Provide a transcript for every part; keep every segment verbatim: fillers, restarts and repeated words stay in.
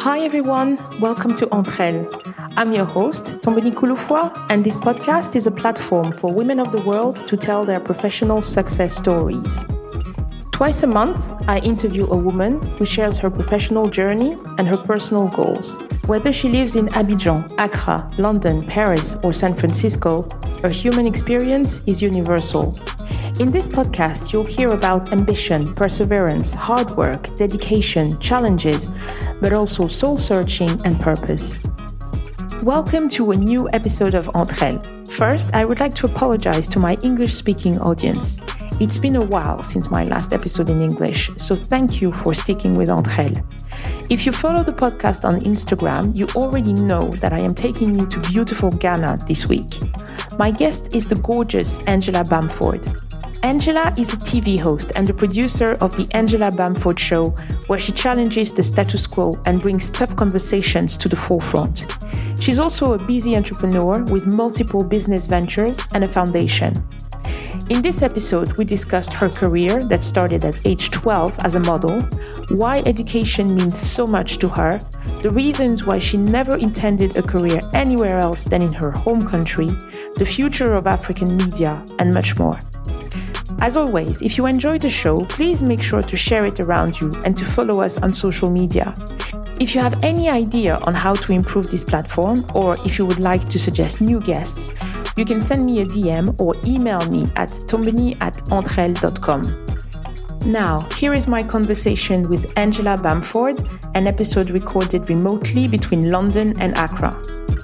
Hi everyone, welcome to Entre Elles. I'm your host, Tombeni Kouloufoua, and this podcast is a platform for women of the world to tell their professional success stories. Twice a month, I interview a woman who shares her professional journey and her personal goals. Whether she lives in Abidjan, Accra, London, Paris, or San Francisco, her human experience is universal. In this podcast, you'll hear about ambition, perseverance, hard work, dedication, challenges, but also soul-searching and purpose. Welcome to a new episode of Entre Elles. First, I would like to apologize to my English-speaking audience. It's been a while since my last episode in English, so thank you for sticking with Entre Elles. If you follow the podcast on Instagram, you already know that I am taking you to beautiful Ghana this week. My guest is the gorgeous Angela Bamford. Angela is a T V host and the producer of The Angela Bamford Show, where she challenges the status quo and brings tough conversations to the forefront. She's also a busy entrepreneur with multiple business ventures and a foundation. In this episode, we discussed her career that started at age twelve as a model, why education means so much to her, the reasons why she never intended a career anywhere else than in her home country, the future of African media, and much more. As always, if you enjoy the show, please make sure to share it around you and to follow us on social media. If you have any idea on how to improve this platform, or if you would like to suggest new guests, you can send me a D M or email me at tombeni at entreelles dot com. Now, here is my conversation with Angela Bamford, an episode recorded remotely between London and Accra.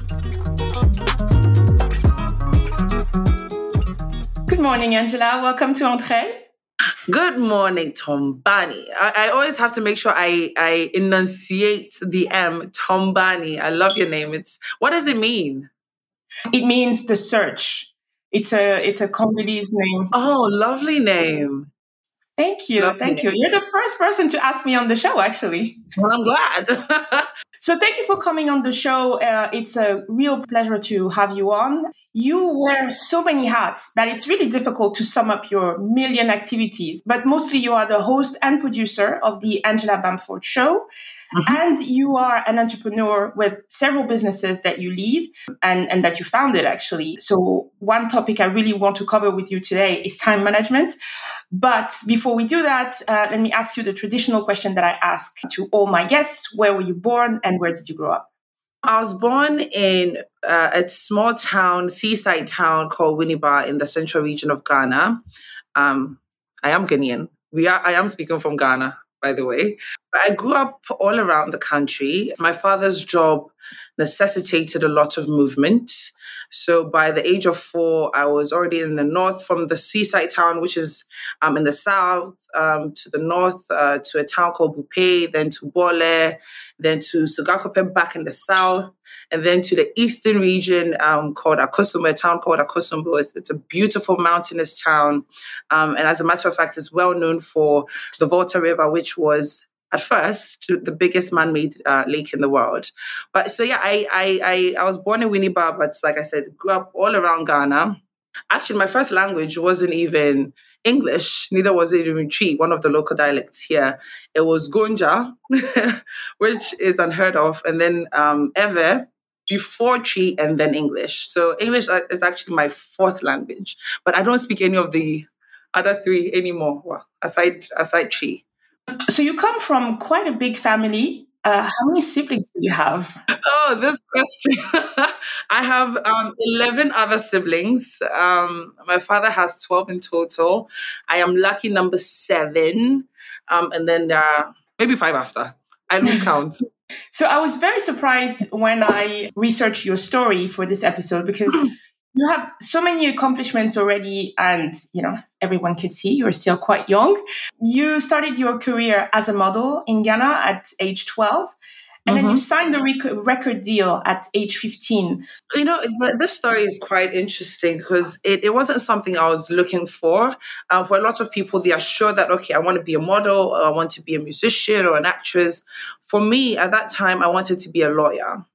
Good morning, Angela. Welcome to Entre Elles. Good morning, Tombani. I, I always have to make sure I, I enunciate the M, Tombani. I love your name. It's what does it mean? It means the search. It's a it's a Congolese name. Oh, lovely name. Thank you. Lovely Thank name. you. You're the first person to ask me on the show, actually. Well, I'm glad. So thank you for coming on the show. Uh, it's a real pleasure to have you on. You wear so many hats that it's really difficult to sum up your million activities, but mostly you are the host and producer of the Angela Bamford Show. Mm-hmm. And you are an entrepreneur with several businesses that you lead and, and that you founded, actually. So one topic I really want to cover with you today is time management. But before we do that, uh, let me ask you the traditional question that I ask to all my guests. Where were you born and where did you grow up? I was born in uh, a small town, seaside town called Winneba in the central region of Ghana. Um, I am Ghanaian. We are. I am speaking from Ghana, by the way. But I grew up all around the country. My father's job necessitated a lot of movement. So by the age of four, I was already in the north from the seaside town, which is um, in the south, um, to the north, uh, to a town called Bupe, then to Bole, then to Sugakope back in the south, and then to the eastern region um, called Akosombo, a town called Akosombo. It's, it's a beautiful mountainous town. Um, and as a matter of fact, it's well known for the Volta River, which was at first the biggest man-made uh, lake in the world. But so, yeah, I, I I I was born in Winneba, but like I said, grew up all around Ghana. Actually, my first language wasn't even English, neither was it even Twi, one of the local dialects here. It was Gonja, which is unheard of, and then um, Ewe, before Twi, and then English. So English is actually my fourth language, but I don't speak any of the other three anymore, well, aside, aside Twi. So you come from quite a big family. Uh, how many siblings do you have? Oh, this question. I have um, eleven other siblings. Um, my father has twelve in total. I am lucky number seven. Um, and then there are maybe five after. I lose count. So I was very surprised when I researched your story for this episode because you have so many accomplishments already, and you know everyone could see you're still quite young. You started your career as a model in Ghana at age twelve, and mm-hmm. then you signed a rec- record deal at age fifteen. You know, th- this story is quite interesting because it, it wasn't something I was looking for. Um, for a lot of people, they are sure that, okay, I want to be a model, or I want to be a musician or an actress. For me, at that time, I wanted to be a lawyer.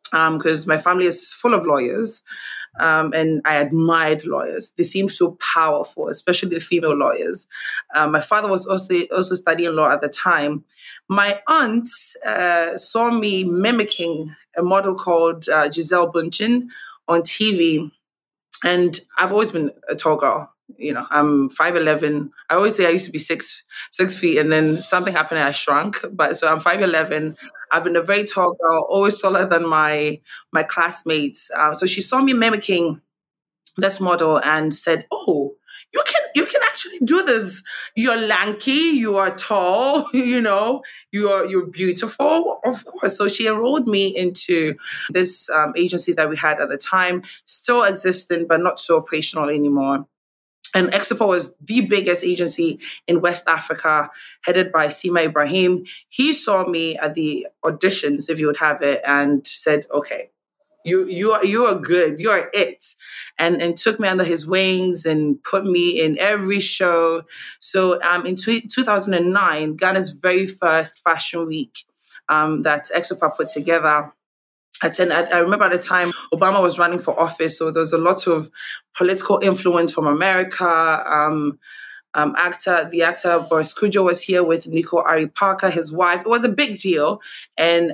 because um, my family is full of lawyers, um, and I admired lawyers. They seemed so powerful, especially the female lawyers. Um, my father was also also studying law at the time. My aunt uh, saw me mimicking a model called uh, Giselle Bundchen on T V, and I've always been a tall girl. You know, I'm five eleven. I always say I used to be six six feet, and then something happened and I shrunk. But so I'm five eleven. I've been a very tall girl, always taller than my my classmates. Um, so she saw me mimicking this model and said, "Oh, you can you can actually do this. You're lanky. You are tall. You know, you are you're beautiful. Of course." So she enrolled me into this um, agency that we had at the time, still existing but not so operational anymore. And Exepo was the biggest agency in West Africa, headed by Sima Ibrahim. He saw me at the auditions, if you would have it, and said, "Okay, you you are you are good, you are it," and and took me under his wings and put me in every show. So um, in two thousand nine, Ghana's very first fashion week um, that Exepo put together. And I remember at the time Obama was running for office, so there was a lot of political influence from America. Um, um, actor, the actor Boris Kodjoe was here with Nico Ari Parker, his wife. It was a big deal, and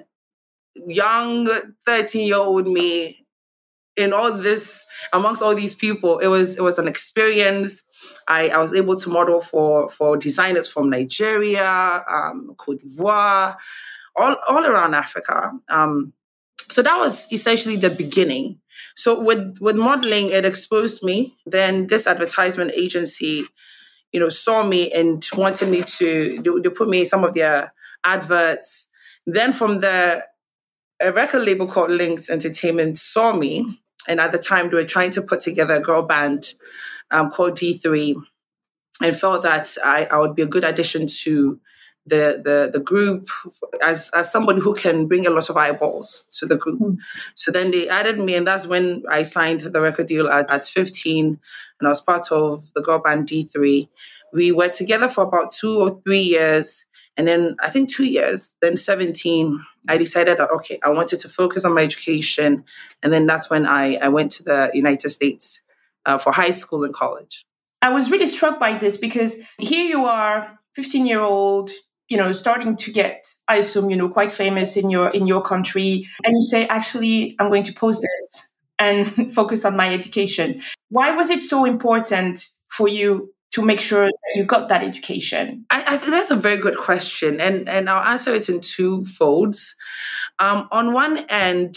young thirteen-year-old me in all this, amongst all these people, it was it was an experience. I, I was able to model for for designers from Nigeria, um, Cote d'Ivoire, all all around Africa. Um, So that was essentially the beginning. So with, with modeling, it exposed me. Then this advertisement agency, you know, saw me and wanted me to, they, they put me in some of their adverts. Then from the, a record label called Lynx Entertainment saw me. And at the time, they were trying to put together a girl band um, called D three, and felt that I, I would be a good addition to the the the group as as somebody who can bring a lot of eyeballs to the group. Mm. So then they added me, and that's when I signed the record deal at, at fifteen, and I was part of the girl band D three. We were together for about two or three years, and then I think two years, then seventeen, I decided that, okay, I wanted to focus on my education, and then that's when I, I went to the United States uh, for high school and college. I was really struck by this because here you are, fifteen-year-old, you know, starting to get, I assume, you know, quite famous in your in your country. And you say, actually, I'm going to post this and focus on my education. Why was it so important for you to make sure that you got that education? I, I think that's a very good question. And, and I'll answer it in two folds. Um, on one end,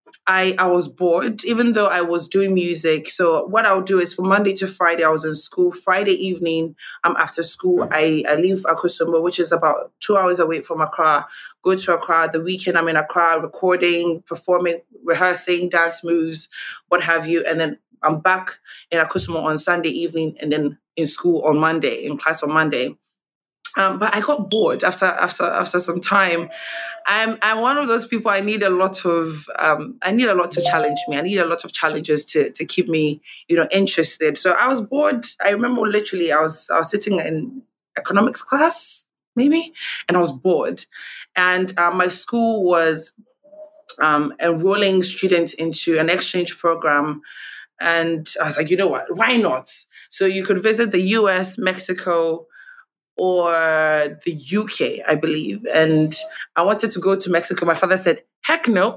I, I was bored, even though I was doing music. So what I'll do is from Monday to Friday, I was in school. Friday evening, um, after school, I, I leave Akosombo, which is about two hours away from Accra, go to Accra. The weekend, I'm in Accra recording, performing, rehearsing, dance moves, what have you. And then I'm back in Akosombo on Sunday evening and then in school on Monday, in class on Monday. Um, but I got bored after after after some time. I'm I'm one of those people. I need a lot of um, I need a lot to challenge me. I need a lot of challenges to to keep me, you know, interested. So I was bored. I remember literally I was I was sitting in economics class maybe, and I was bored. And uh, my school was um, enrolling students into an exchange program, and I was like, you know what? Why not? So you could visit the U S, Mexico, or the U K, I believe. And I wanted to go to Mexico. My father said, heck no.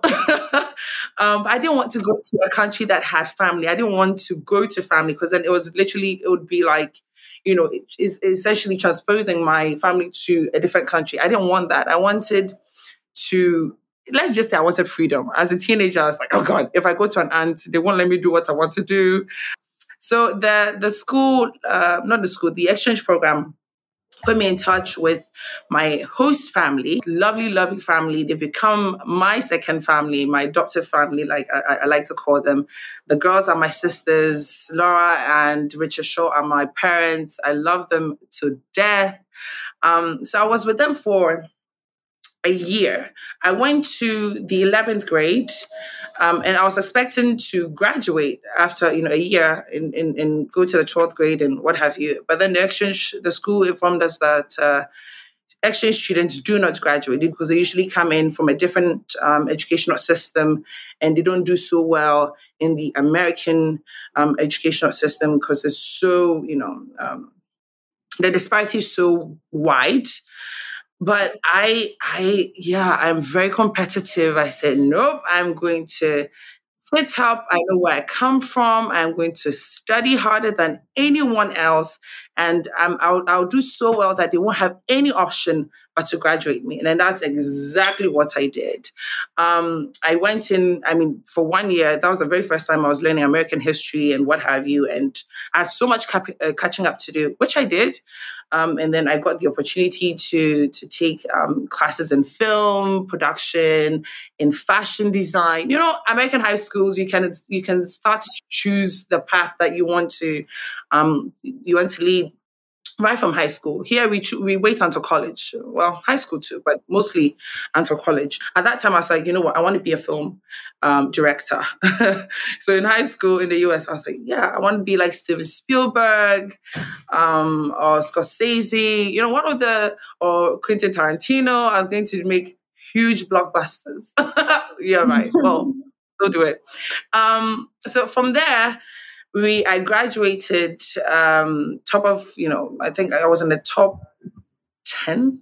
um, I didn't want to go to a country that had family. I didn't want to go to family because then it was literally, it would be like, you know, it, it's essentially transposing my family to a different country. I didn't want that. I wanted to, let's just say I wanted freedom. As a teenager, I was like, oh God, if I go to an aunt, they won't let me do what I want to do. So the, the school, uh, not the school, the exchange program, put me in touch with my host family, lovely, lovely family. They've become my second family, my adoptive family, like I, I like to call them. The girls are my sisters. Laura and Richard Shaw are my parents. I love them to death. Um, so I was with them for a year. I went to the eleventh grade. Um, and I was expecting to graduate after, you know, a year and, and, and go to the twelfth grade and what have you. But then the exchange, the school informed us that uh, exchange students do not graduate because they usually come in from a different um, educational system, and they don't do so well in the American um, educational system because it's so, you know, um, the disparity is so wide. But I, I, yeah, I'm very competitive. I said, nope, I'm going to sit up. I know where I come from. I'm going to study harder than anyone else. And um, I'll, I'll do so well that they won't have any option but to graduate me. And then that's exactly what I did. Um, I went in, I mean, for one year, that was the very first time I was learning American history and what have you. And I had so much cap- uh, catching up to do, which I did. Um, and then I got the opportunity to, to take um, classes in film production, in fashion design. You know, American high schools, you can you can start to choose the path that you want to um, you want to lead right from high school. Here we cho- we wait until college. Well, high school too, but mostly until college. At that time, I was like, you know what, I want to be a film um, director. So in high school in the U S, I was like, yeah, I want to be like Steven Spielberg um, or Scorsese. You know, one of the or Quentin Tarantino. I was going to make huge blockbusters. Yeah, right. Well, go do it. Um, so from there. We, I graduated um, top of, you know, I think I was in the top ten.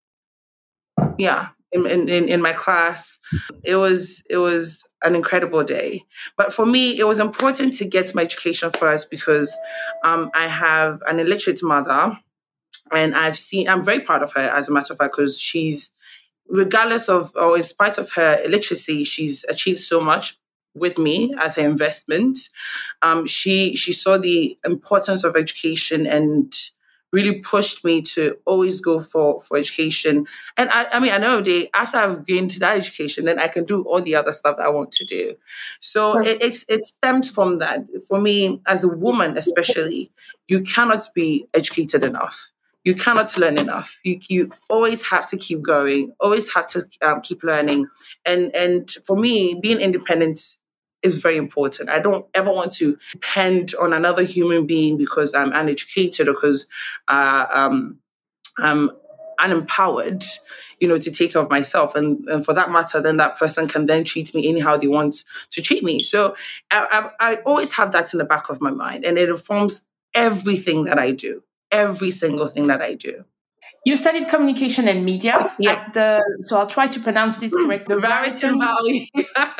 Yeah, in, in, in my class. It was, it was an incredible day. But for me, it was important to get my education first because um, I have an illiterate mother, and I've seen, I'm very proud of her, as a matter of fact, because she's, regardless of, or in spite of her illiteracy, she's achieved so much with me as an investment. Um, she she saw the importance of education and really pushed me to always go for, for education. And I, I mean, I know day after I've gained that education, then I can do all the other stuff that I want to do. So it, it, it stems from that. For me, as a woman especially, you cannot be educated enough. You cannot learn enough. You you always have to keep going, always have to um, keep learning. And and for me, being independent is very important. I don't ever want to depend on another human being because I'm uneducated or because uh, um, I'm unempowered, you know, to take care of myself. And, and for that matter, then that person can then treat me anyhow they want to treat me. So I, I, I always have that in the back of my mind, and it informs everything that I do, every single thing that I do. You studied communication and media yeah. at the, so I'll try to pronounce this correctly. The Raritan Valley.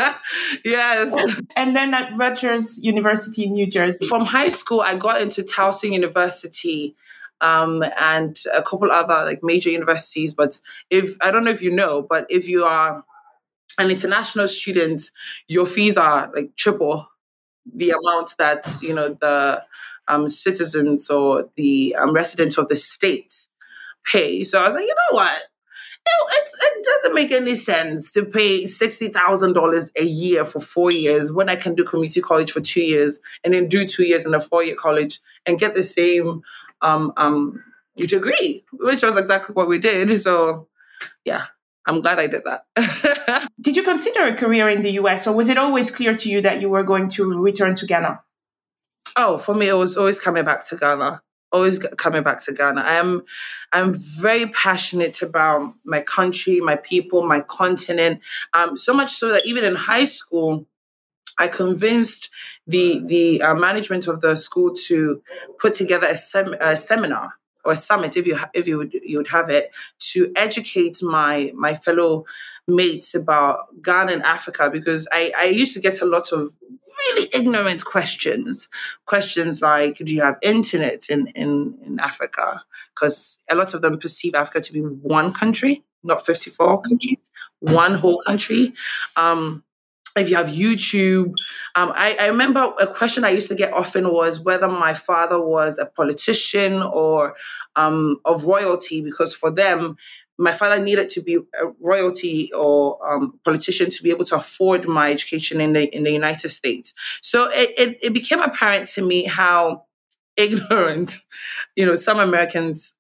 Yes. And then at Rutgers University in New Jersey. From high school, I got into Towson University um, and a couple other like major universities. But if, I don't know if you know, but if you are an international student, your fees are like triple the amount that, you know, the um, citizens or the um, residents of the state pay. So I was like, you know what? It's, it doesn't make any sense to pay sixty thousand dollars a year for four years when I can do community college for two years and then do two years in a four-year college and get the same um, um, degree, which was exactly what we did. So, yeah, I'm glad I did that. Did you consider a career in the U S, or was it always clear to you that you were going to return to Ghana? Oh, for me, it was always coming back to Ghana. Always coming back to Ghana. I am, I'm very passionate about my country, my people, my continent. Um, so much so that even in high school, I convinced the the uh, management of the school to put together a, sem- a seminar or a summit, if you ha- if you would you would have it, to educate my my fellow mates about Ghana and Africa, because I, I used to get a lot of really ignorant questions. Questions like, do you have internet in, in, in Africa? Because a lot of them perceive Africa to be one country, not fifty-four countries, one whole country. Um, if you have YouTube. Um, I, I remember a question I used to get often was whether my father was a politician or um, of royalty, because for them, my father needed to be a royalty or um, politician to be able to afford my education in the in the United States. So it, it, it became apparent to me how ignorant, you know, some Americans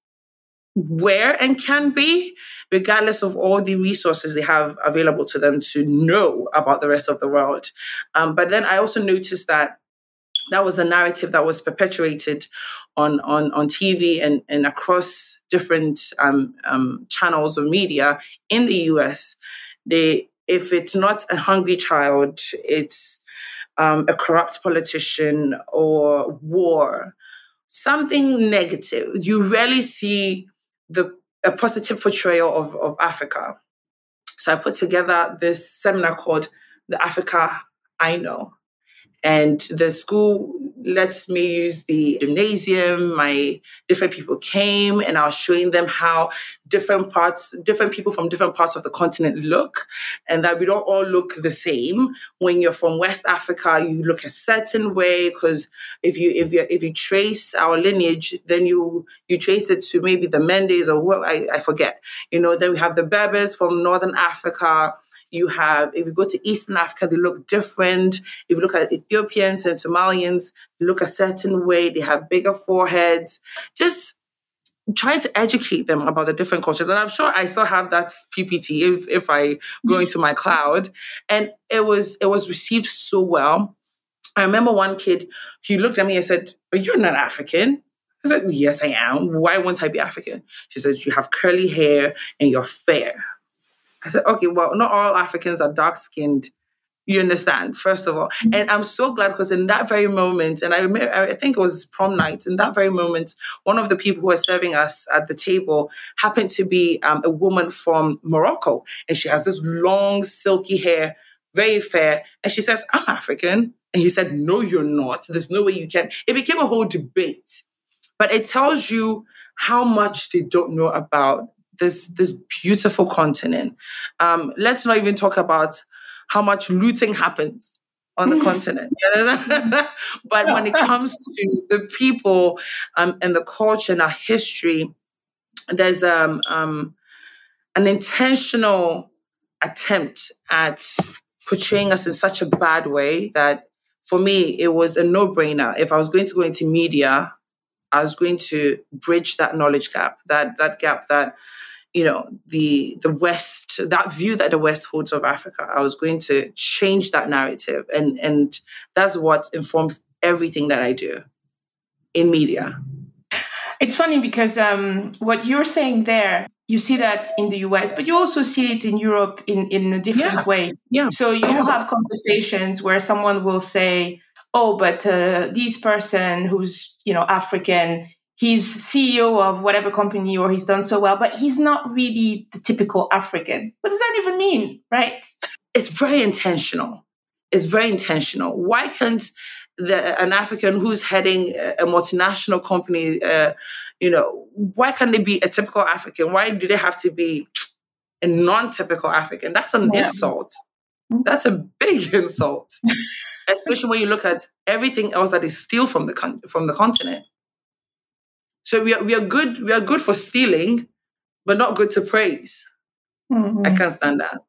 were and can be, regardless of all the resources they have available to them to know about the rest of the world. Um, but then I also noticed that That was the narrative that was perpetuated on on, on T V and, and across different um, um, channels of media in the U S. They, if it's not a hungry child, it's um, a corrupt politician or war, something negative. You rarely see the a positive portrayal of, of Africa. So I put together this seminar called The Africa I Know. And the school lets me use the gymnasium. My different people came and I was showing them how different parts, different people from different parts of the continent look, and that we don't all look the same. When you're from West Africa, you look a certain way because if you if you if you trace our lineage, then you you trace it to maybe the Mendes or what I, I forget. You know, then we have the Berbers from Northern Africa. You have, if you go to Eastern Africa, they look different. If you look at Ethiopians and Somalians, they look a certain way. They have bigger foreheads. Just trying to educate them about the different cultures. And I'm sure I still have that P P T if, if I go into my cloud. And it was it was received so well. I remember one kid, he looked at me and said, "But you're not African." I said, "Yes, I am. Why won't I be African?" She said, "You have curly hair and you're fair." I said, okay, well, not all Africans are dark-skinned. You understand, first of all. And I'm so glad because in that very moment, and I remember, I think it was prom night, in that very moment, one of the people who was serving us at the table happened to be um, a woman from Morocco. And she has this long, silky hair, very fair. And she says, "I'm African." And he said, "No, you're not. There's no way you can." It became a whole debate. But it tells you how much they don't know about this this beautiful continent. Um, let's not even talk about how much looting happens on the continent. But when it comes to the people um, and the culture and our history, there's um, um, an intentional attempt at portraying us in such a bad way that for me, it was a no-brainer. If I was going to go into media, I was going to bridge that knowledge gap, that that gap that you know, the the West, that view that the West holds of Africa. I was going to change that narrative. And, and that's what informs everything that I do in media. It's funny because um, what you're saying there, you see that in the U S, but you also see it in Europe in, in a different yeah. way. Yeah. So you yeah. have conversations where someone will say, "Oh, but uh, this person who's, you know, African, he's C E O of whatever company or he's done so well, but he's not really the typical African." What does that even mean, right? It's very intentional. It's very intentional. Why can't the, an African who's heading a multinational company, uh, you know, why can't they be a typical African? Why do they have to be a non-typical African? That's an yeah. insult. That's a big insult, especially when you look at everything else that they steal from the con- from the continent. So we are we are good we are good for stealing, but not good to praise. Mm-hmm. I can't stand that.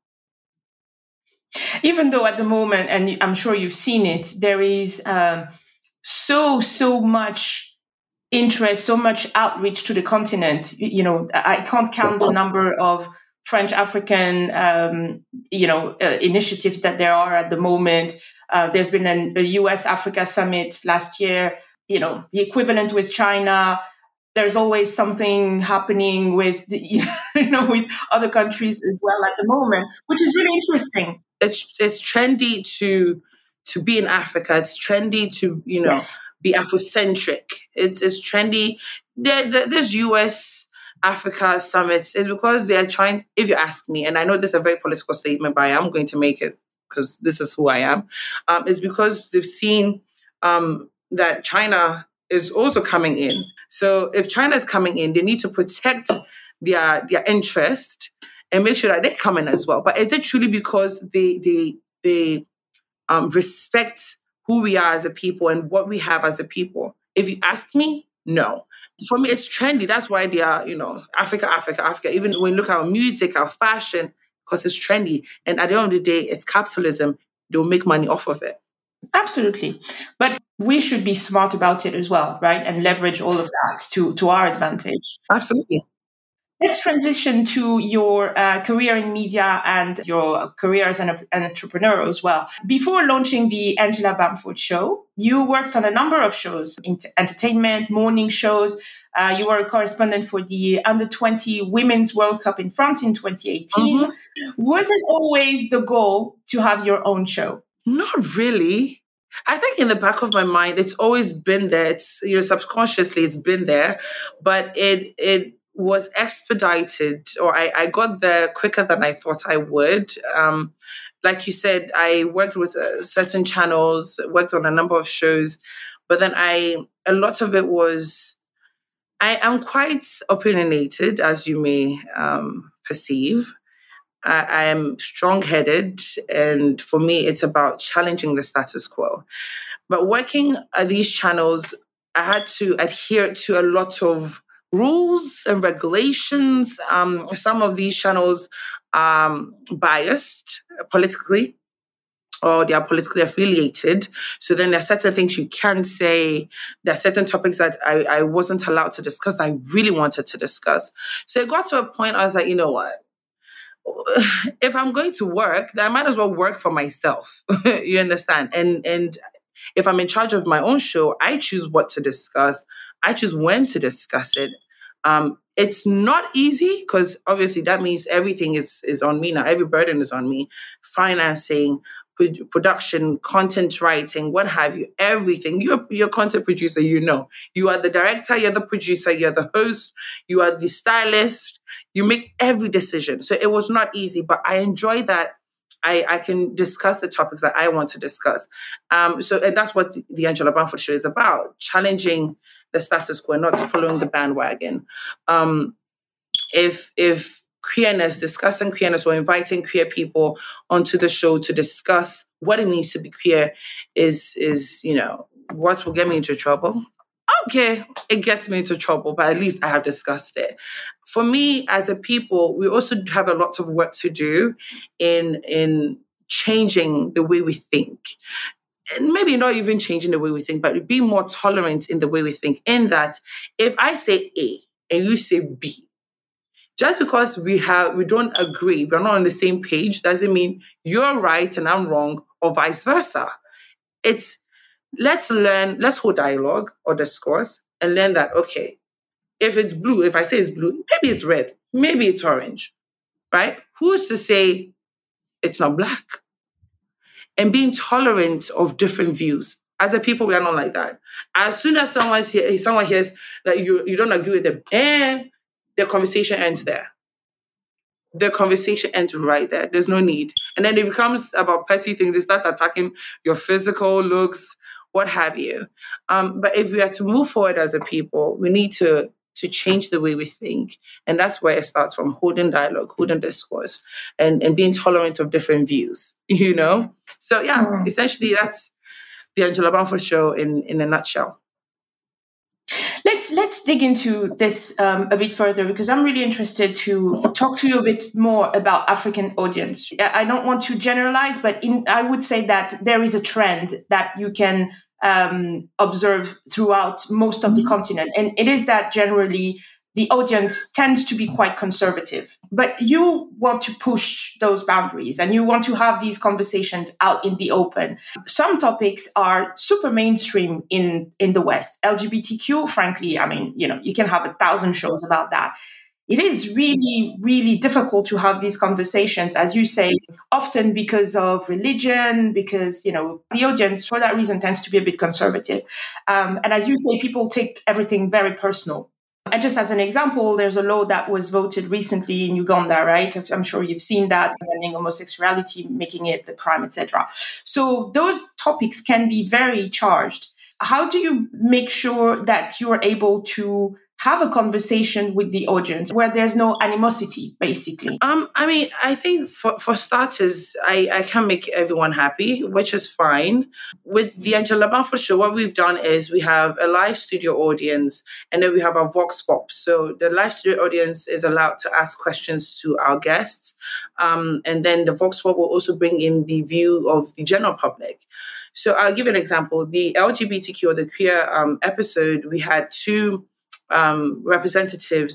Even though at the moment, and I'm sure you've seen it, there is um, so so much interest, so much outreach to the continent. You know, I can't count the number of French African um, you know uh, initiatives that there are at the moment. Uh, there's been an, a U S Africa summit last year. You know, the equivalent with China. There's always something happening with, you know, with other countries as well at the moment, which is really interesting. It's it's trendy to to be in Africa. It's trendy to, you know, yes. be Afrocentric. It's it's trendy. There, there, this U S Africa summits is because they are trying. If you ask me, and I know this is a very political statement, but I am going to make it because this is who I am. Um, it's because they've seen um, that China is also coming in. So if China is coming in, they need to protect their their interest and make sure that they come in as well. But is it truly because they they they um, respect who we are as a people and what we have as a people? If you ask me, no. For me, it's trendy. That's why they are, you know, Africa, Africa, Africa. Even when you look at our music, our fashion, because it's trendy. And at the end of the day, it's capitalism. They'll make money off of it. Absolutely. But we should be smart about it as well, right? And leverage all of that to, to our advantage. Absolutely. Let's transition to your uh, career in media and your career as an, an entrepreneur as well. Before launching the Angela Bamford Show, you worked on a number of shows, entertainment, morning shows. Uh, you were a correspondent for the under twenty Women's World Cup in France in twenty eighteen. Mm-hmm. Was it always the goal to have your own show? Not really. I think in the back of my mind, it's always been there. It's, you know, subconsciously it's been there, but it it was expedited, or I, I got there quicker than I thought I would. Um, like you said, I worked with uh, certain channels, worked on a number of shows, but then I a lot of it was. I am quite opinionated, as you may um, perceive. I, I am strong-headed, and for me, it's about challenging the status quo. But working at these channels, I had to adhere to a lot of rules and regulations. Um, some of these channels are um, biased politically, or they are politically affiliated. So then there are certain things you can say. There are certain topics that I, I wasn't allowed to discuss that I really wanted to discuss. So it got to a point I was like, you know what? If I'm going to work, then I might as well work for myself. You understand? And and if I'm in charge of my own show, I choose what to discuss. I choose when to discuss it. Um, it's not easy because obviously that means everything is, is on me now. Every burden is on me. Financing, production, content writing, what have you, everything. You're, you're a content producer, you know. You are the director, you're the producer, you're the host, you are the stylist. You make every decision. So it was not easy, but I enjoy that I, I can discuss the topics that I want to discuss. Um, so and that's what the, the Angela Bamford Show is about, challenging the status quo, not following the bandwagon. Um, if if queerness, discussing queerness or inviting queer people onto the show to discuss what it means to be queer is, is, you know, what will get me into trouble. Okay, it gets me into trouble, but at least I have discussed it. For me, as a people, we also have a lot of work to do in, in changing the way we think. And maybe not even changing the way we think, but be more tolerant in the way we think. In that, if I say A and you say B, just because we have we don't agree, we're not on the same page, doesn't mean you're right and I'm wrong, or vice versa. It's let's learn, let's hold dialogue or discourse and learn that, okay, if it's blue, if I say it's blue, maybe it's red, maybe it's orange, right? Who's to say it's not black? And being tolerant of different views. As a people, we are not like that. As soon as someone hears, someone hears that you, you don't agree with them, and the conversation ends there. The conversation ends right there. There's no need. And then it becomes about petty things. They start attacking your physical looks, what have you. Um, but if we are to move forward as a people, we need to, to change the way we think. And that's where it starts from, holding dialogue, holding discourse, and, and being tolerant of different views, you know? So yeah, mm. essentially that's the Angela Bamford Show in, in a nutshell. Let's let's dig into this um, a bit further, because I'm really interested to talk to you a bit more about African audience. I don't want to generalize, but in, I would say that there is a trend that you can um, observe throughout most of the continent, and it is that generally the audience tends to be quite conservative. But you want to push those boundaries and you want to have these conversations out in the open. Some topics are super mainstream in, in the West. L G B T Q, frankly, I mean, you know, you can have a thousand shows about that. It is really, really difficult to have these conversations, as you say, often because of religion, because, you know, the audience for that reason tends to be a bit conservative. Um, and as you say, people take everything very personal. And just as an example, there's a law that was voted recently in Uganda, right? I'm sure you've seen that, banning homosexuality, making it a crime, et cetera. So those topics can be very charged. How do you make sure that you are able to have a conversation with the audience where there's no animosity, basically? Um, I mean, I think for, for starters, I, I can make everyone happy, which is fine. With the Angela Bamford Show, what we've done is we have a live studio audience and then we have our Vox Pop. So the live studio audience is allowed to ask questions to our guests. Um, and then the Vox Pop will also bring in the view of the general public. So I'll give you an example. The L G B T Q or the queer um, episode, we had two Um, representatives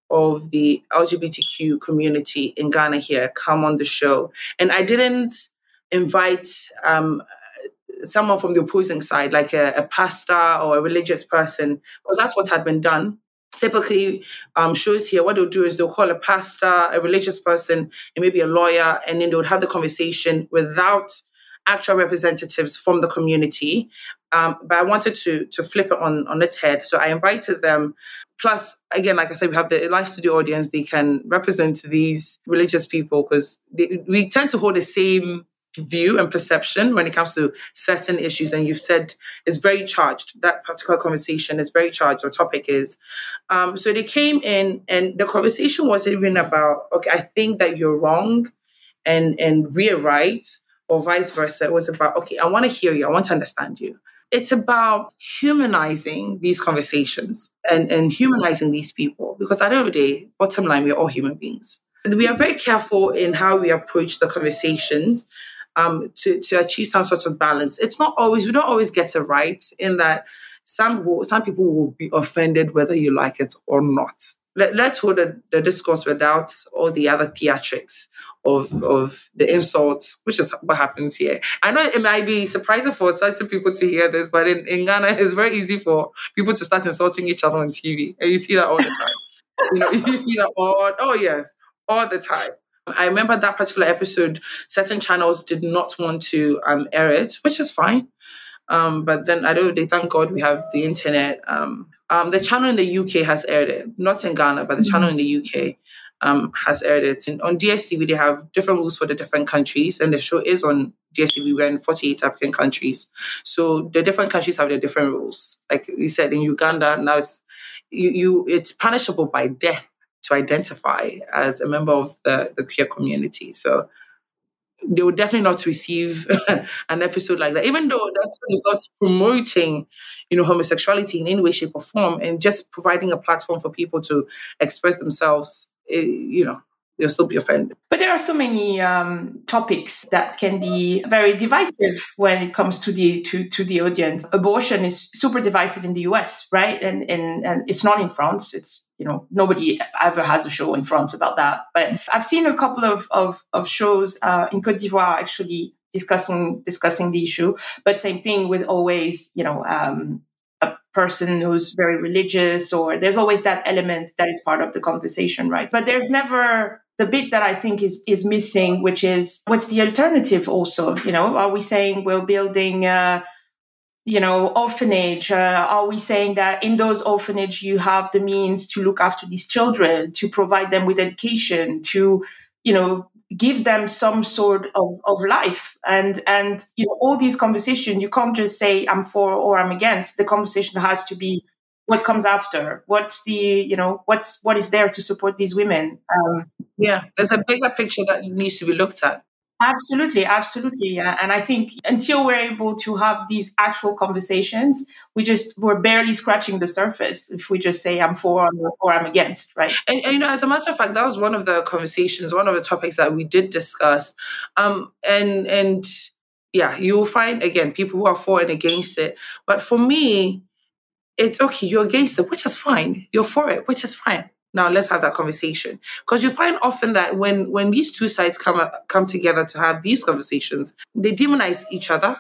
of the L G B T Q community in Ghana here come on the show. And I didn't invite um, someone from the opposing side, like a, a pastor or a religious person, because that's what had been done. Typically, um, shows here, what they'll do is they'll call a pastor, a religious person, and maybe a lawyer, and then they would have the conversation without actual representatives from the community. Um, but I wanted to to flip it on, on its head. So I invited them. Plus, again, like I said, we have the live studio audience. They can represent these religious people because we tend to hold the same view and perception when it comes to certain issues. And you've said it's very charged. That particular conversation is very charged. The topic is. Um, so they came in and the conversation wasn't even about, okay, I think that you're wrong and, and we're right, or vice versa. It was about, okay, I want to hear you. I want to understand you. It's about humanizing these conversations and, and humanizing these people. Because at the end of the day, bottom line, we're all human beings. We are very careful in how we approach the conversations um, to, to achieve some sort of balance. It's not always, we don't always get it right in that some will, some people will be offended whether you like it or not. Let, let's hold the, the discourse without all the other theatrics of of the insults, which is what happens here. I know it might be surprising for certain people to hear this, but in, in Ghana, it's very easy for people to start insulting each other on T V. And you see that all the time. you know, you see that all, oh yes, all the time. I remember that particular episode, certain channels did not want to um, air it, which is fine. Um, but then I don't, they thank God we have the internet. Um, um, the channel in the U K has aired it, not in Ghana, but the mm-hmm. channel in the U K um, has aired it. And on D S T V, they have different rules for the different countries, and the show is on D S T V. We're in forty-eight African countries. So the different countries have their different rules. Like you said, in Uganda, now it's, you, you it's punishable by death to identify as a member of the, the queer community. So they would definitely not receive an episode like that, even though the episode is not promoting, you know, homosexuality in any way, shape, or form, and just providing a platform for people to express themselves. It, you know, they'll still be offended. But there are so many um, topics that can be very divisive when it comes to the to, to the audience. Abortion is super divisive in the U S, right? And and and it's not in France. It's You know, nobody ever has a show in France about that. But I've seen a couple of of, of shows uh, in Côte d'Ivoire actually discussing discussing the issue. But same thing with always, you know, um, a person who's very religious, or there's always that element that is part of the conversation, right? But there's never the bit that I think is is missing, which is what's the alternative also? You know, are we saying we're building uh you know, orphanage? Uh, are we saying that in those orphanage you have the means to look after these children, to provide them with education, to, you know, give them some sort of, of life? And, and, you know, all these conversations, you can't just say I'm for or I'm against. The conversation has to be what comes after. What's the, you know, what's, what is there to support these women? Um, yeah, there's a bigger picture that needs to be looked at. Absolutely, absolutely. Yeah. And I think until we're able to have these actual conversations, we just, we're barely scratching the surface if we just say I'm for or I'm against, right? And, and you know, as a matter of fact, that was one of the conversations, one of the topics that we did discuss. Um, and, and yeah, you'll find, again, people who are for and against it. But for me, it's okay, you're against it, which is fine. You're for it, which is fine. Now let's have that conversation, because you find often that when when these two sides come come together to have these conversations, they demonize each other,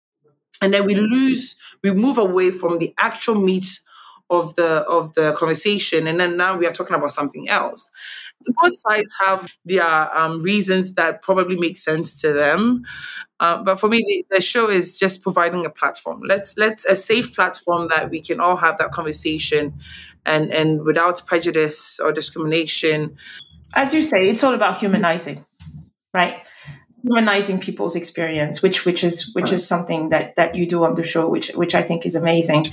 and then we lose, we move away from the actual meat of the of the conversation, and then now we are talking about something else. Both sides have their um, reasons that probably make sense to them, uh, but for me, the, the show is just providing a platform. Let's let's a safe platform that we can all have that conversation. And and without prejudice or discrimination. As you say, it's all about humanizing, right? Humanizing people's experience, which which is which is something that, that you do on the show, which which I think is amazing.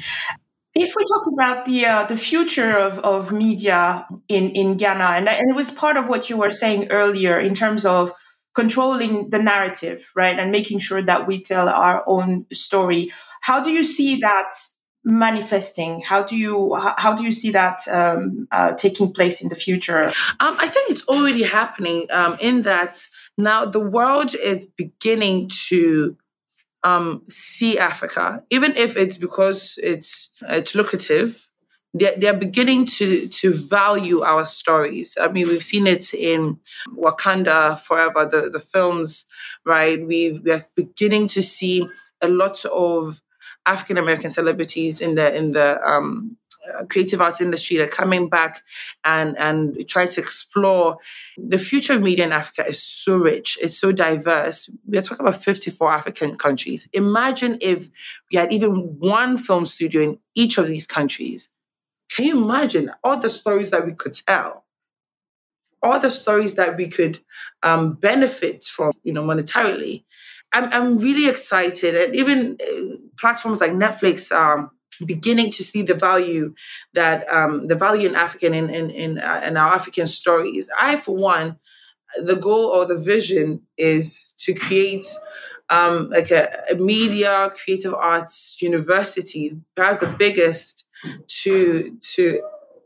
If we talk about the uh, the future of, of media in, in Ghana, and, and it was part of what you were saying earlier in terms of controlling the narrative, right, and making sure that we tell our own story. How do you see that manifesting? How do you how do you see that um, uh, taking place in the future? Um, I think it's already happening um, in that now the world is beginning to um, see Africa, even if it's because it's it's lucrative they're, they're beginning to to value our stories. I mean, we've seen it in Wakanda Forever, the, the films, right? We we are beginning to see a lot of African American celebrities in the in the um, creative arts industry that are coming back and and try to explore. The future of media in Africa is so rich, it's so diverse. We're talking about fifty-four African countries. Imagine if we had even one film studio in each of these countries. Can you imagine all the stories that we could tell? All the stories that we could um, benefit from, you know, monetarily. I'm, I'm really excited. And even uh, platforms like Netflix are beginning to see the value that um, the value in African in in in, uh, in our African stories. I, for one, the goal or the vision is to create um, like a, a media creative arts university, perhaps the biggest to to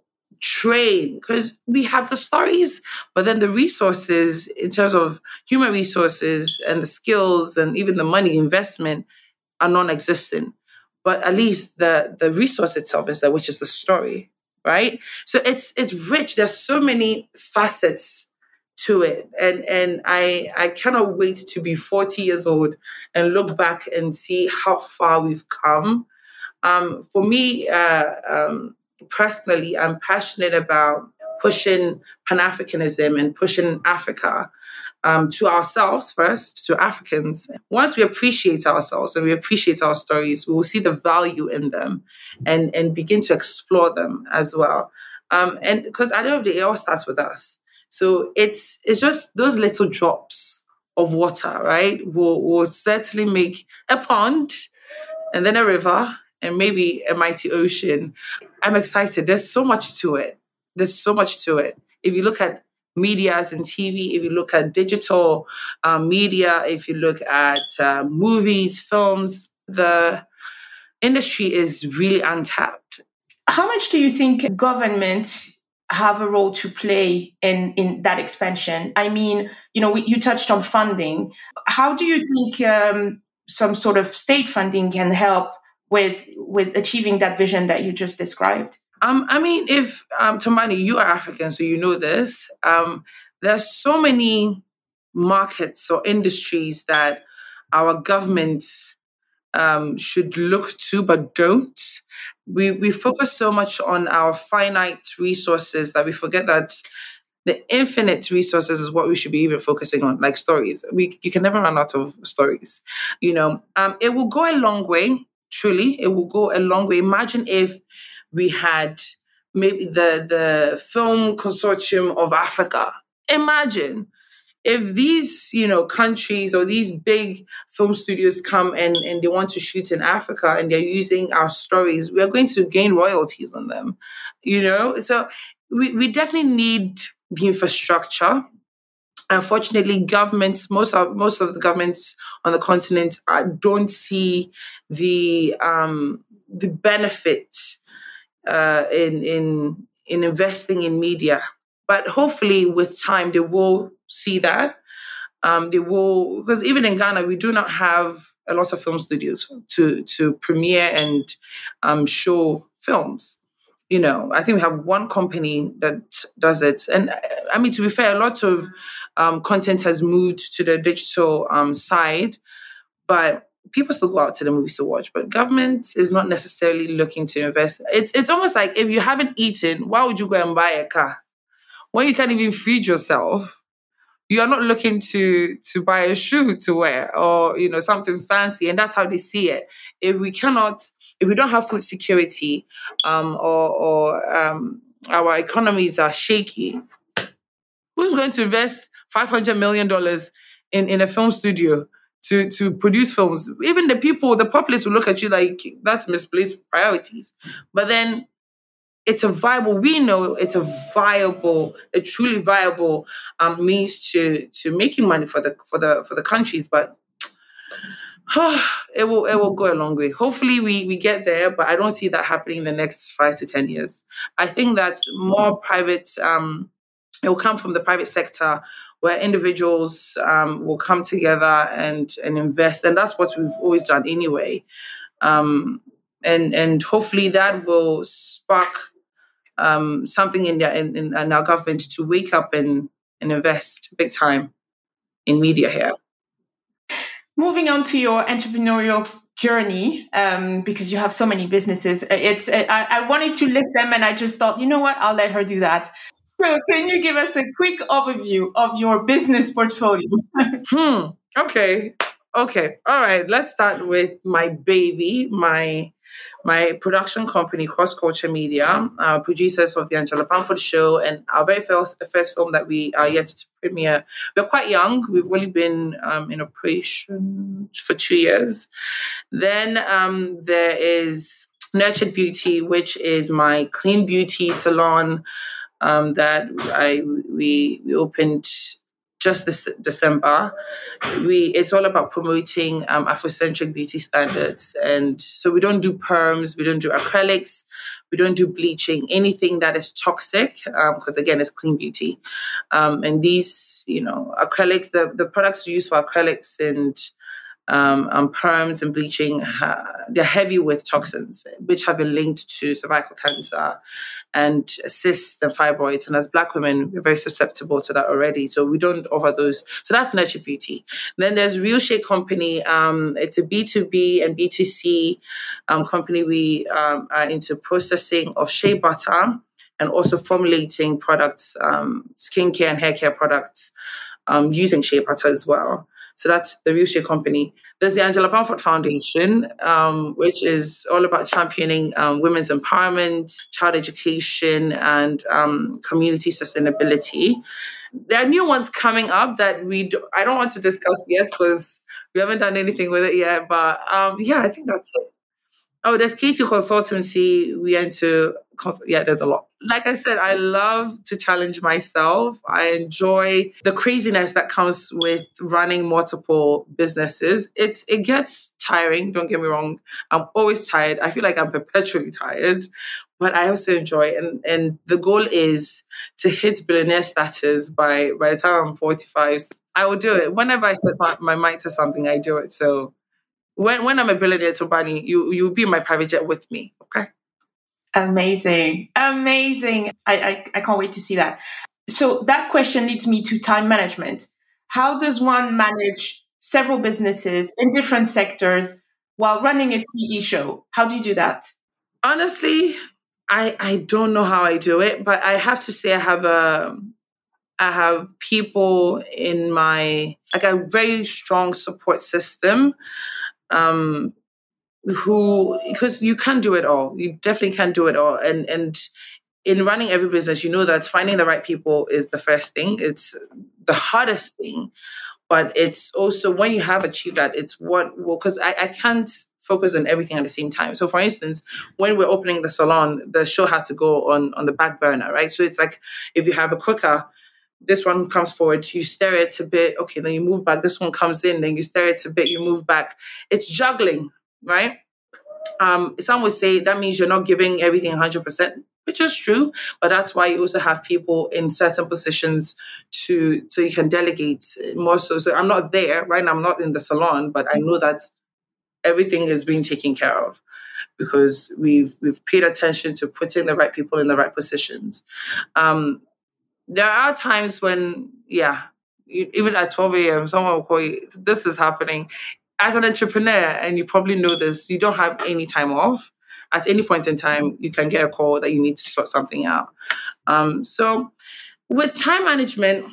train, because we have the stories, but then the resources in terms of human resources and the skills and even the money investment are non-existent. But at least the the resource itself is there, which is the story, right? So it's it's rich. There's so many facets to it, and and I I cannot wait to be forty years old and look back and see how far we've come. Um, for me, uh, um, personally, I'm passionate about pushing Pan-Africanism and pushing Africa um, to ourselves first, to Africans. Once we appreciate ourselves and we appreciate our stories, we will see the value in them and, and begin to explore them as well. Um, and because at the end of the day, it all starts with us. So it's it's just those little drops of water, right, will, will certainly make a pond and then a river and maybe a mighty ocean. I'm excited. There's so much to it. There's so much to it. If you look at medias and T V, if you look at digital um, media, if you look at uh, movies, films, the industry is really untapped. How much do you think government have a role to play in, in that expansion? I mean, you know, we, you touched on funding. How do you think um, some sort of state funding can help with with achieving that vision that you just described? Um, I mean, if, um, Tombani, you are African, so you know this. Um, there's so many markets or industries that our governments um, should look to, but don't. We we focus so much on our finite resources that we forget that the infinite resources is what we should be even focusing on, like stories. We You can never run out of stories. You know, um, it will go a long way. Truly, it will go a long way. Imagine if we had maybe the, the Film Consortium of Africa. Imagine if these, you know, countries or these big film studios come and, and they want to shoot in Africa and they're using our stories, we are going to gain royalties on them, you know? So we, we definitely need the infrastructure. Unfortunately, governments, most of most of the governments on the continent uh, don't see the um, the benefit uh, in in in investing in media. But hopefully, with time, they will see that. Um, they will, because even in Ghana, we do not have a lot of film studios to to premiere and um, show films. You know, I think we have one company that does it. And I mean, to be fair, a lot of um, content has moved to the digital um, side, but people still go out to the movies to watch. But government is not necessarily looking to invest. It's it's almost like if you haven't eaten, why would you go and buy a car? When you can't even feed yourself, you are not looking to to buy a shoe to wear or, you know, something fancy. And that's how they see it. If we cannot, if we don't have food security um, or, or um, our economies are shaky, who's going to invest five hundred million dollars in, in a film studio to, to produce films? Even the people, the populace will look at you like that's misplaced priorities. But then it's a viable, we know it's a viable, a truly viable um, means to to making money for the for the for the countries, but oh, it will it will go a long way. Hopefully we we get there, but I don't see that happening in the next five to ten years. I think that more private um, it will come from the private sector where individuals um, will come together and and invest, and that's what we've always done anyway. Um, and and hopefully that will spark um, something in, the, in, in, in our government to wake up and, and invest big time in media here. Moving on to your entrepreneurial journey, um, because you have so many businesses. It's I, I wanted to list them, and I just thought, you know what, I'll let her do that. So, can you give us a quick overview of your business portfolio? hmm. Okay. Okay. All right. Let's start with my baby, my my production company, Cross Culture Media, uh, producers of the Angela Bamford Show, and our very first, first film that we are yet to premiere. We're quite young. We've only been um, in operation for two years. Then um, there is Nurtured Beauty, which is my clean beauty salon um, that I we we opened just this December. We it's all about promoting um, Afrocentric beauty standards, and so we don't do perms, we don't do acrylics, we don't do bleaching, anything that is toxic, because um, again, it's clean beauty. Um, and these, you know, acrylics, the the products used for acrylics and Um, and perms and bleaching, ha- they're heavy with toxins, which have been linked to cervical cancer and cysts and fibroids. And as Black women, we're very susceptible to that already. So we don't offer those. So that's Nurtured Beauty. Then there's Real Shea Company. Um, it's a B two B and B two C um, company. We um, are into processing of shea butter and also formulating products, um, skincare and hair care products um, using shea butter as well. So that's the Real Shea Company. There's the Angela Bamford Foundation, um, which is all about championing um, women's empowerment, child education, and um, community sustainability. There are new ones coming up that we do, I don't want to discuss yet because we haven't done anything with it yet. But um, yeah, I think that's it. Oh, there's K two Consultancy. We went to, yeah, there's a lot. Like I said, I love to challenge myself. I enjoy the craziness that comes with running multiple businesses. It's It gets tiring, don't get me wrong. I'm always tired. I feel like I'm perpetually tired, but I also enjoy it. And, and the goal is to hit billionaire status by, by the time I'm forty-five. I will do it. Whenever I set my, my mind to something, I do it. So When when I'm a billionaire, Tobani, you you'll be in my private jet with me, okay? Amazing, amazing! I, I I can't wait to see that. So that question leads me to time management. How does one manage several businesses in different sectors while running a T V show? How do you do that? Honestly, I I don't know how I do it, but I have to say I have a I have people in my like a very strong support system. Um, who, because you can't do it all. You definitely can't do it all. And and in running every business, you know that finding the right people is the first thing. It's the hardest thing. But it's also when you have achieved that, it's what will, because I, I can't focus on everything at the same time. So for instance, when we're opening the salon, the show had to go on, on the back burner, right? So it's like if you have a cooker, this one comes forward, you stir it a bit, okay, then you move back, this one comes in, then you stir it a bit, you move back. It's juggling, right? Um, some would say that means you're not giving everything one hundred percent, which is true, but that's why you also have people in certain positions to so you can delegate more so. So I'm not there, right? I'm not in the salon, but I know that everything is being taken care of because we've we've paid attention to putting the right people in the right positions. Um, There are times when, yeah, even at twelve a.m., someone will call you, this is happening. As an entrepreneur, and you probably know this, you don't have any time off. At any point in time, you can get a call that you need to sort something out. Um, so with time management,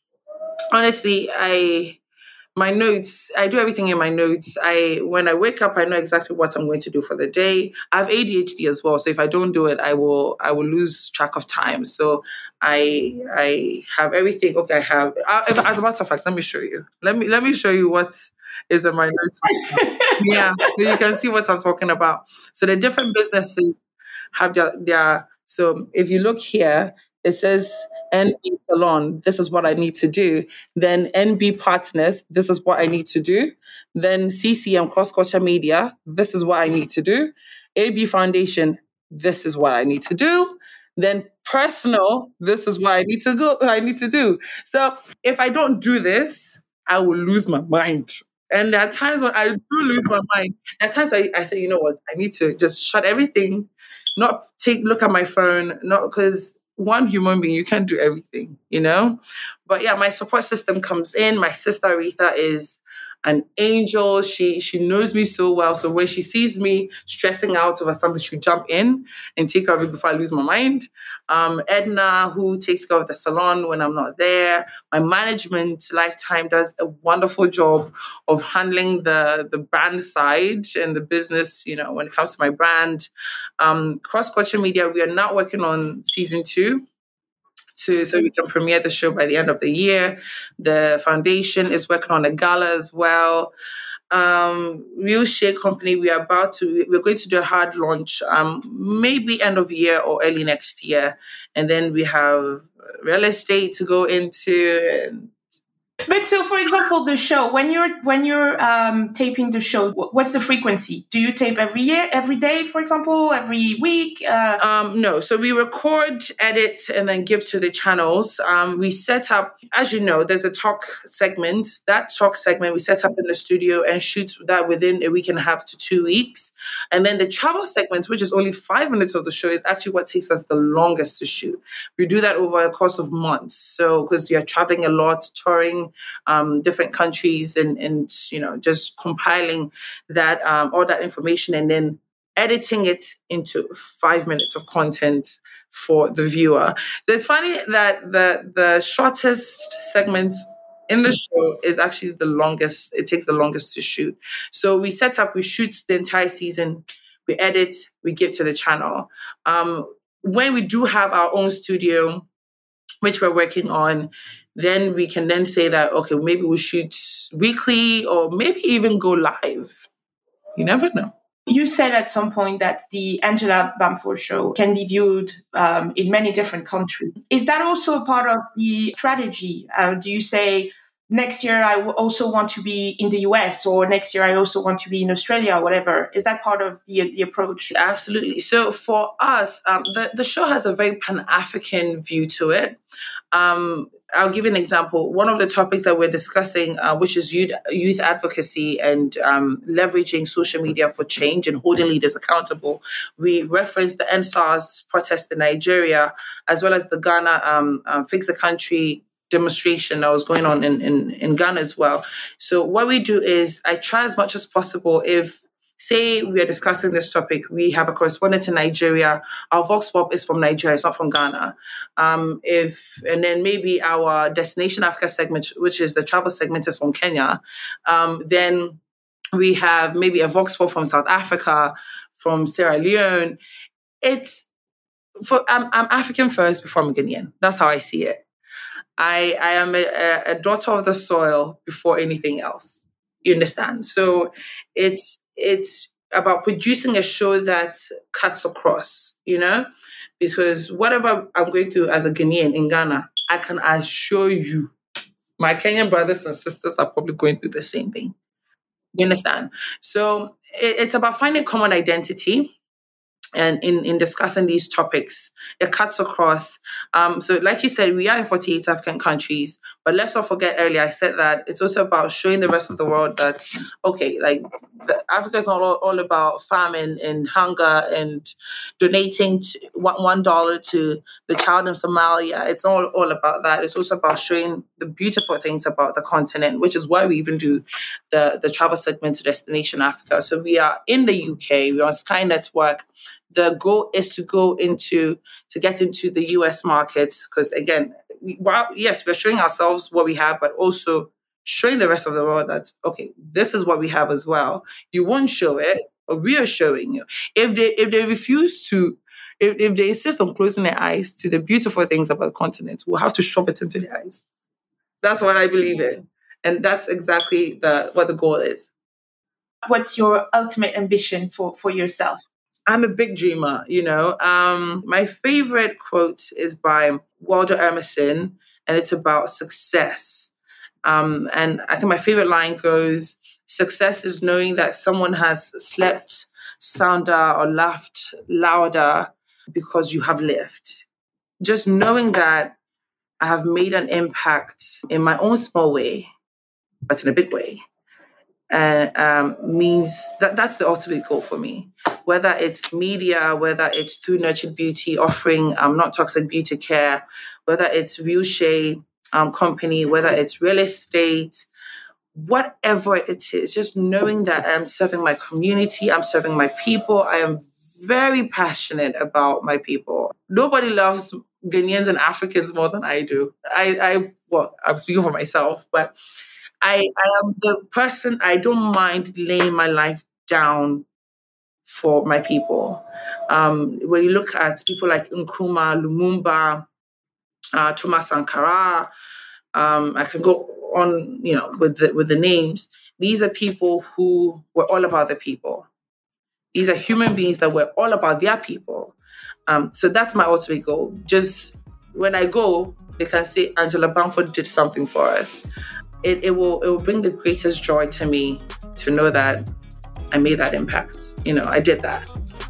honestly, I... My notes, I do everything in my notes. I When I wake up, I know exactly what I'm going to do for the day. I have A D H D as well, so if I don't do it, I will I will lose track of time. So I I have everything. Okay, I have. Uh, as a matter of fact, let me show you. Let me let me show you what is in my notes. Yeah, so you can see what I'm talking about. So the different businesses have their, their so if you look here, it says N B Salon, this is what I need to do. Then N B Partners, this is what I need to do. Then C C M Cross Culture Media, this is what I need to do. A B Foundation, this is what I need to do. Then personal, this is what I need to go. I need to do. So if I don't do this, I will lose my mind. And there are times when I do lose my mind. There are times I, I say, you know what, I need to just shut everything not take look at my phone, not because one human being, you can't do everything, you know? But yeah, my support system comes in. My sister Aretha is an angel. She she knows me so well. So when she sees me stressing out over something, she'll jump in and take care of it before I lose my mind. Um, Edna, who takes care of the salon when I'm not there. My management, Lifetime, does a wonderful job of handling the, the brand side and the business, you know, when it comes to my brand. Um, Cross Culture Media, we are now working on season two. To, so we can premiere the show by the end of the year. The foundation is working on a gala as well. Um, Real Shea Company, we are about to, we're going to do a hard launch, um, maybe end of year or early next year. And then we have real estate to go into. And But so, for example, the show, when you're when you're um, taping the show, what's the frequency? Do you tape every year, every day, for example, every week? Uh... Um, no. So we record, edit, and then give to the channels. Um, we set up, as you know, there's a talk segment. That talk segment we set up in the studio and shoot that within a week and a half to two weeks. And then the travel segment, which is only five minutes of the show, is actually what takes us the longest to shoot. We do that over a course of months. So because you're traveling a lot, touring, Um, different countries and, and, you know, just compiling that, um, all that information and then editing it into five minutes of content for the viewer. So it's funny that the, the shortest segment in the show is actually the longest. It takes the longest to shoot. So we set up, we shoot the entire season, we edit, we give to the channel. Um, when we do have our own studio, which we're working on, then we can then say that, okay, maybe we'll shoot weekly or maybe even go live. You never know. You said at some point that the Angela Bamford show can be viewed um, in many different countries. Is that also a part of the strategy? Uh, do you say, next year I w- also want to be in the U S, or next year I also want to be in Australia, or whatever? Is that part of the the approach? Absolutely. So for us, um, the, the show has a very Pan-African view to it. Um, I'll give you an example. One of the topics that we're discussing, uh, which is youth, youth advocacy and um, leveraging social media for change and holding leaders accountable. We referenced the N S A R S protest in Nigeria, as well as the Ghana um, um, Fix the Country demonstration that was going on in, in, in Ghana as well. So what we do is I try as much as possible, if say we are discussing this topic, we have a correspondent in Nigeria, our Vox Pop is from Nigeria, it's not from Ghana. Um, if and then maybe our Destination Africa segment, which is the travel segment, is from Kenya. Um, then we have maybe a Vox Pop from South Africa, from Sierra Leone. It's for I'm, I'm African first before I'm Ghanaian. That's how I see it. I, I am a, a daughter of the soil before anything else. You understand? So it's it's about producing a show that cuts across, you know, because whatever I'm going through as a Ghanaian in Ghana, I can assure you my Kenyan brothers and sisters are probably going through the same thing. You understand? So it, it's about finding common identity. And in, in discussing these topics, it cuts across. Um, so like you said, we are in forty-eight African countries, but let's not forget earlier, I said that it's also about showing the rest of the world that, okay, like the, Africa is not all, all about famine and hunger and donating to, one dollar to the child in Somalia. It's all, all about that. It's also about showing the beautiful things about the continent, which is why we even do the, the travel segment to Destination Africa. So we are in the U K, we're on Sky Network. The goal is to go into, to get into the U S markets. Because again, we, while, yes, we're showing ourselves what we have, but also showing the rest of the world that, okay, this is what we have as well. You won't show it, but we are showing you. If they, if they refuse to, if, if they insist on closing their eyes to the beautiful things about the continent, we'll have to shove it into their eyes. That's what I believe in. And that's exactly the, what the goal is. What's your ultimate ambition for, for yourself? I'm a big dreamer, you know. Um, my favorite quote is by Walter Emerson, and it's about success. Um, and I think my favorite line goes, success is knowing that someone has slept sounder or laughed louder because you have lived. Just knowing that I have made an impact in my own small way, but in a big way. uh, um, means that that's the ultimate goal for me. Whether it's media, whether it's through Nurtured Beauty offering um, not toxic beauty care, whether it's Real Shea um, company, whether it's real estate, whatever it is, just knowing that I'm serving my community, I'm serving my people. I am very passionate about my people. Nobody loves Ghanaians and Africans more than I do. I, I well, I'm speaking for myself, but I, I am the person, I don't mind laying my life down for my people. Um, when you look at people like Nkrumah, Lumumba, uh, Thomas Sankara, um, I can go on, you know, with the, with the names. These are people who were all about the people. These are human beings that were all about their people. Um, so that's my ultimate goal. Just when I go, they can say Angela Bamford did something for us. It, it will it will bring the greatest joy to me to know that I made that impact. You know, I did that.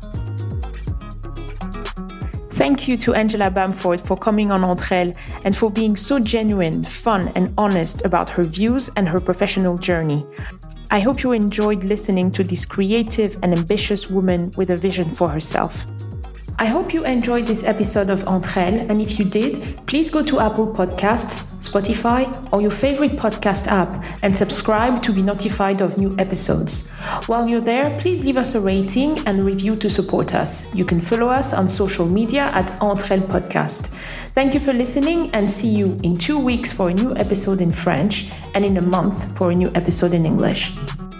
Thank you to Angela Bamford for coming on Entre Elles and for being so genuine, fun, and honest about her views and her professional journey. I hope you enjoyed listening to this creative and ambitious woman with a vision for herself. I hope you enjoyed this episode of Entre Elles, and if you did, please go to Apple Podcasts, Spotify, or your favorite podcast app and subscribe to be notified of new episodes. While you're there, please leave us a rating and review to support us. You can follow us on social media at Entre Elles Podcast. Thank you for listening, and see you in two weeks for a new episode in French and in a month for a new episode in English.